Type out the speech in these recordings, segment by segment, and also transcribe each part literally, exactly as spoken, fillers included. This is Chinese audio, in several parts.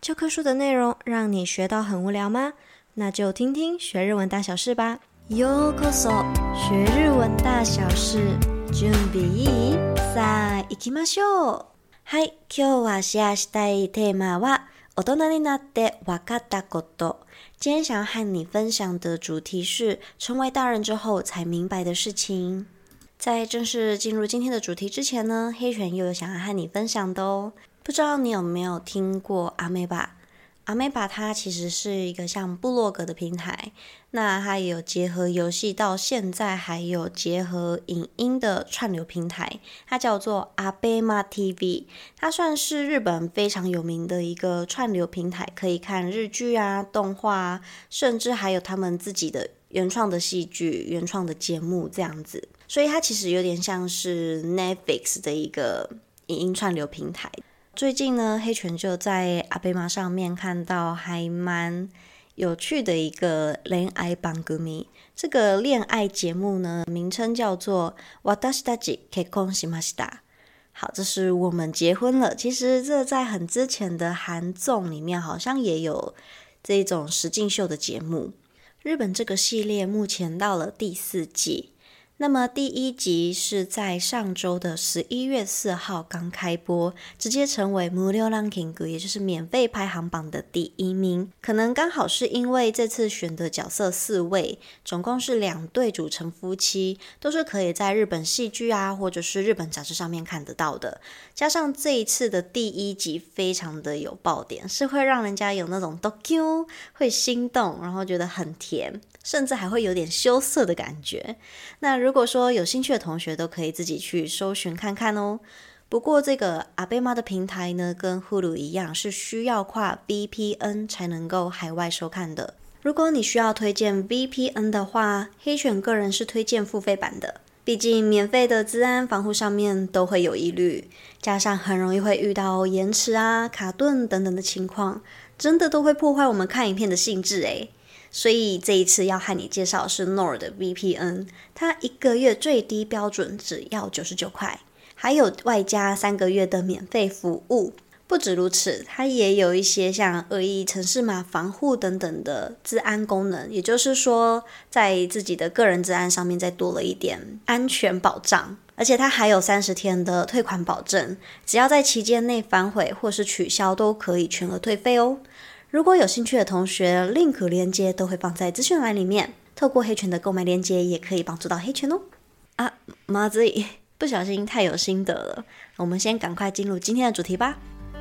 教科書的內容讓你學到很無聊嗎？那就聽聽學日文大小事吧。ようこそ、學日文大小事。準備いい？さあ、行きましょう。はい、今日はシェアしたいテーマは大人になって分かったこと。今天想要和你分享的主題是成為大人之後才明白的事情。在正式進入今天的主題之前呢，黑犬又有想要和你分享的哦。不知道你有沒有聽過阿梅巴？阿梅巴它其實是一個像部落格的平台，那它也有結合遊戲，到現在還有結合影音的串流平台，它叫做 ABEMATV， 它算是日本非常有名的一個串流平台，可以看日劇啊、動畫啊，甚至還有他們自己的原創的戲劇、原創的節目這樣子，所以它其實有點像是 Netflix 的一個影音串流平台。最近呢，黑犬就在阿貝瑪上面看到還蠻有趣的一個戀愛番組。這個戀愛節目呢，名稱叫做私たち結婚しました。好，這是我們結婚了。其實這在很之前的韓綜裡面好像也有這種實境秀的節目。日本這個系列目前到了第四季。那麼第一集是在上周的十一月四號剛開播，直接成為無料ランキング，也就是免費排行榜的第一名。可能剛好是因為這次選的角色四位，總共是兩對組成夫妻，都是可以在日本戲劇啊，或者是日本雜誌上面看得到的。加上這一次的第一集非常的有爆點，是會讓人家有那種ドキュン，會心動，然後覺得很甜，甚至還會有點羞澀的感覺。那如果說有興趣的同學都可以自己去搜尋看看哦。不過這個 ABEMA 的平台呢，跟 Hulu 一樣是需要跨 V P N 才能夠海外收看的。如果你需要推薦 V P N 的話，黑犬個人是推薦付費版的，畢竟免費的資安防護上面都會有疑慮，加上很容易會遇到延遲啊、卡頓等等的情況，真的都會破壞我們看影片的興致誒。所以這一次要和你介紹的是 Nord 的 V P N， 它一個月最低標準只要九十九塊，還有外加三個月的免費服務。不止如此，它也有一些像惡意程式碼防護等等的資安功能，也就是說在自己的個人資安上面再多了一點安全保障。而且它還有三十天的退款保證，只要在期間內反悔或是取消都可以全額退費哦。如果有興趣的同學 ，link 鏈接都會放在資訊欄裡面，透過黑犬的購買鏈接也可以幫助到黑犬哦。啊，媽自己不小心太有心得了，我們先趕快進入今天的主題吧。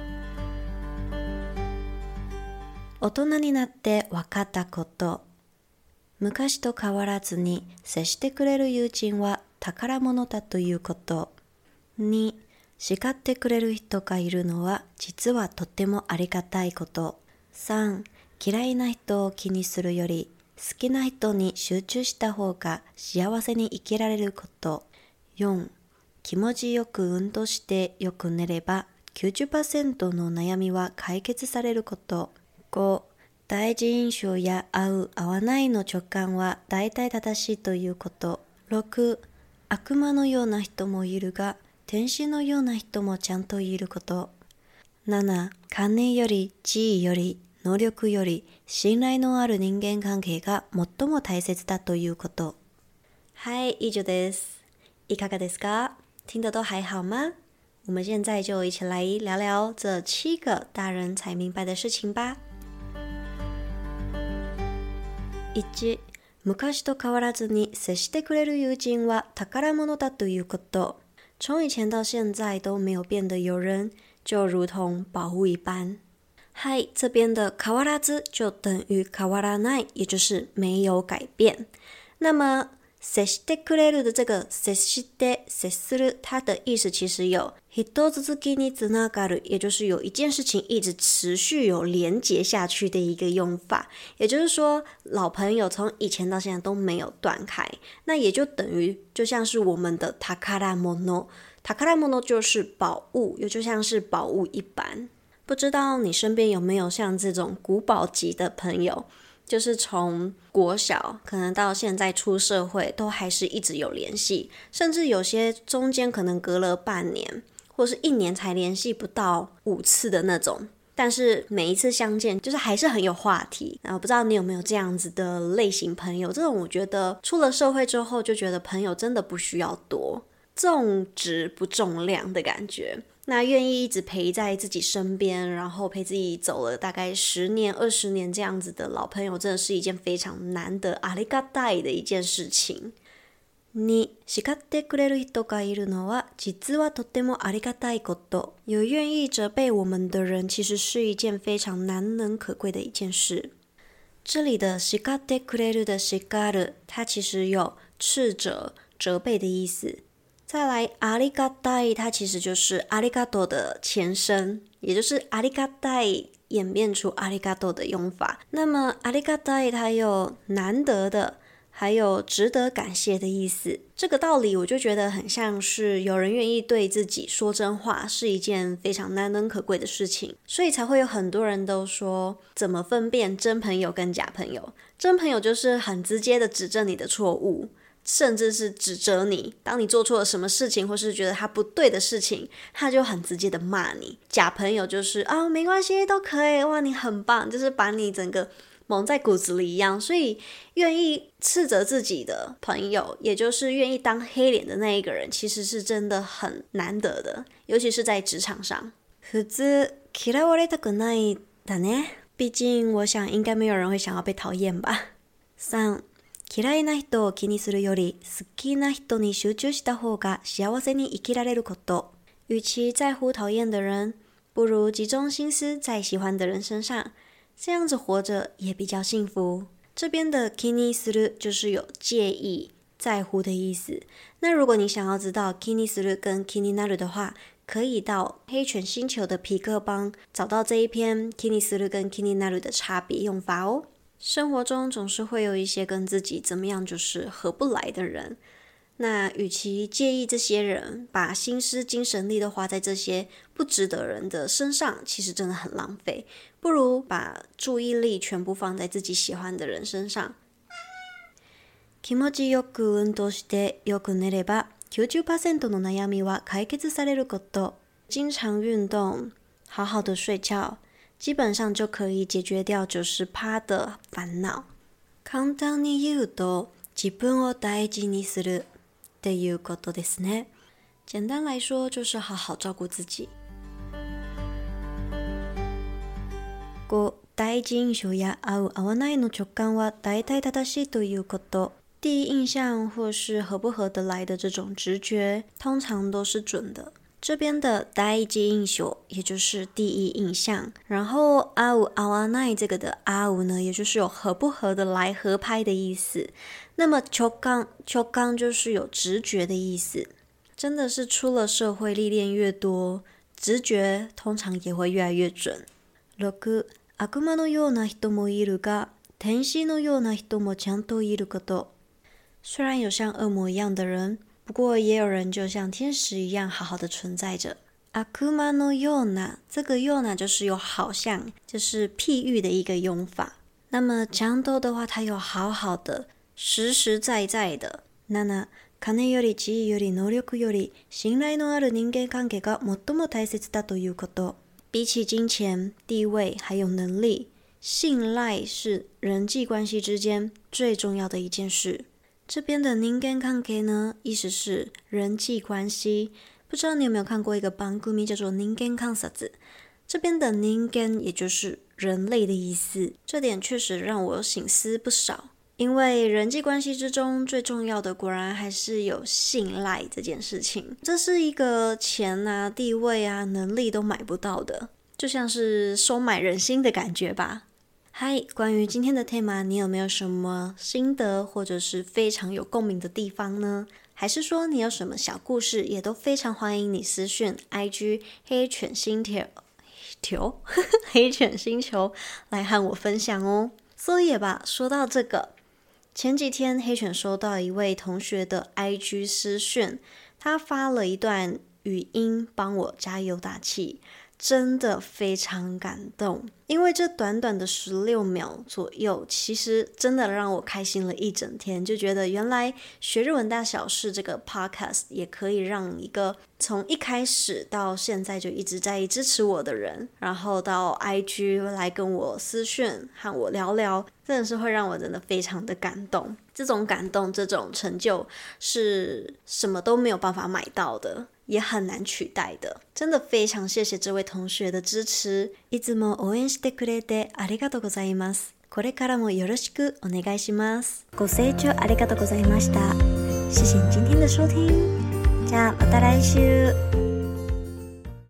大人になって分かったこと。昔と変わらずに接してくれる友人は宝物だということ。に、叱ってくれる人がいるのは実はとてもありがたいこと。さん、嫌いな人を気にするより好きな人に集中した方が幸せに生きられること。よん、気持ちよく運動してよく寝れば きゅうじゅっパーセント の悩みは解決されること。ご、第一印象や合う合わないの直感は大体正しいということ。ろく、悪魔のような人もいるが天使のような人もちゃんといること。なな、金より地位より能力より信頼のある人間関係が最も大切だということ。はい、以上です。いかがですか？聽得都還好嗎？我們現在就一起來聊聊這七個大人才明白的事情吧。一、昔と変わらずに接してくれる友人は寶物だということ。從以前到現在都沒有變的友人，就如同寶物一般。嗨，這邊的変わらず就等於変わらない，也就是沒有改變。那麼接してくれる的這個接して接する，它的意思其實有人続きにつながる，也就是有一件事情一直持續有連結下去的一個用法。也就是說，老朋友從以前到現在都沒有斷開，那也就等於就像是我們的寶物。寶物就是寶物，也就像是寶物一般。不知道你身邊有沒有像這種古堡級的朋友，就是從國小可能到現在出社會都還是一直有聯繫，甚至有些中間可能隔了半年或是一年才聯繫不到五次的那種， 但是每一次相見，就是還是很有話題。那我不知道你有沒有這樣子的類型朋友？這種我覺得出了社會之後，就覺得朋友真的不需要多，重質不重量的感覺。那願意一直陪在自己身邊，然後陪自己走了大概十年、二十年這樣子的老朋友，真的是一件非常難得、ありがたい的一件事情。に、叱ってくれる人がいるのは実はとてもありがたいこと。有願意責備我們的人，其實是一件非常難能可貴的一件事。這裡的叱ってくれる的叱る，它其實有斥責、責備的意思。再來，ありがたい，它其實就是ありがとう的前身，也就是ありがたい演變出ありがとう的用法。那麼ありがたい它有難得的，還有值得感謝的意思。這個道理我就覺得很像是有人願意對自己說真話，是一件非常難能可貴的事情，所以才會有很多人都說，怎麼分辨真朋友跟假朋友？真朋友就是很直接的指正你的錯誤，甚至是指責你，當你做錯了什麼事情，或是覺得他不對的事情，他就很直接的罵你。假朋友就是啊、哦，沒關係，都可以，哇，你很棒，就是把你整個蒙在骨子裡一樣。所以願意斥責自己的朋友，也就是願意當黑臉的那一個人，其實是真的很難得的，尤其是在職場上。普通嫌われたくないだね。畢竟我想應該沒有人會想要被討厭吧。三、嫌いな人を気にするより好きな人に集中した方が幸せに生きられること。與其在乎討厭的人，不如集中心思在喜歡的人身上，這樣子活着也比較幸福。這邊的気にする就是有介意、在乎的意思。那如果你想要知道気にする跟気になる的話，可以到黑犬星球的痞客邦找到這一篇気にする跟気になる的差別用法哦。生活中總是會有一些跟自己怎麼樣就是合不來的人，那與其介意這些人，把心思精神力都花在這些不值得人的身上，其實真的很浪費，不如把注意力全部放在自己喜歡的人身上。気持ちよく運動してよく寝れば きゅうじゅっパーセント の悩みは解決されること。經常運動，好好的睡覺，基本上就可以解決掉 百分之九十 的煩惱。簡単に言うと、自分を大事にするっていうことですね。簡單來說，就是好好照顧自己。五、第一印象や合う合わないの直感は大體正しいということ。第一印象或是合不合得來的這種直覺，通常都是準的。這邊的第一印象也就是第一印象，然後合う合わない這個的合う呢，也就是有合不合得來、合拍的意思。那麼直感，直感就是有直覺的意思。真的是出了社會歷練越多，直覺通常也會越來越準。六、悪魔のような人もいるが、天使のような人もちゃんといること。雖然有像惡魔一樣的人，不過也有人就像天使一樣好好的存在着。悪魔のような，這個ような就是有好像，就是譬喻的一個用法。那麼ちゃんと的話，它有好好的、實實在在的。七、金より地位より能力より信頼のある人間関係が最も大切だということ。比起金錢、地位還有能力，信賴是人際關係之間最重要的一件事。這邊的人間関係呢，意思是人際關係。不知道你有沒有看過一個番組叫做人間観察，這邊的人間也就是人類的意思。這點確實讓我省思不少，因為人際關係之中最重要的果然還是有信賴這件事情。這是一個錢啊、地位啊、能力都買不到的，就像是收買人心的感覺吧。嗨，關於今天的 tema， 你有沒有什麼心得或者是非常有共鳴的地方呢？還是說你有什麼小故事，也都非常歡迎你私訊 I G 黑犬星球黑犬星球來和我分享哦。所以吧，說到這個，前幾天黑犬收到一位同學的 I G 私訊，他發了一段語音幫我加油打氣。 真的非常感動，因為這短短的十六秒左右，其實真的讓我開心了一整天，就覺得原來學日文大小事這個 podcast 也可以讓一個從一開始到現在就一直在支持我的人，然後到 I G 來跟我私訊和我聊聊，真的是會讓我真的非常的感動。這種感動，這種成就是什麼都沒有辦法買到的，也很難取代的。真的非常謝謝這位同學的支持。いつも応援してくれてありがとうございます。これからもよろしくお願いします。ご清聴ありがとうございました。謝謝你今天的收聽。じゃあまた來週。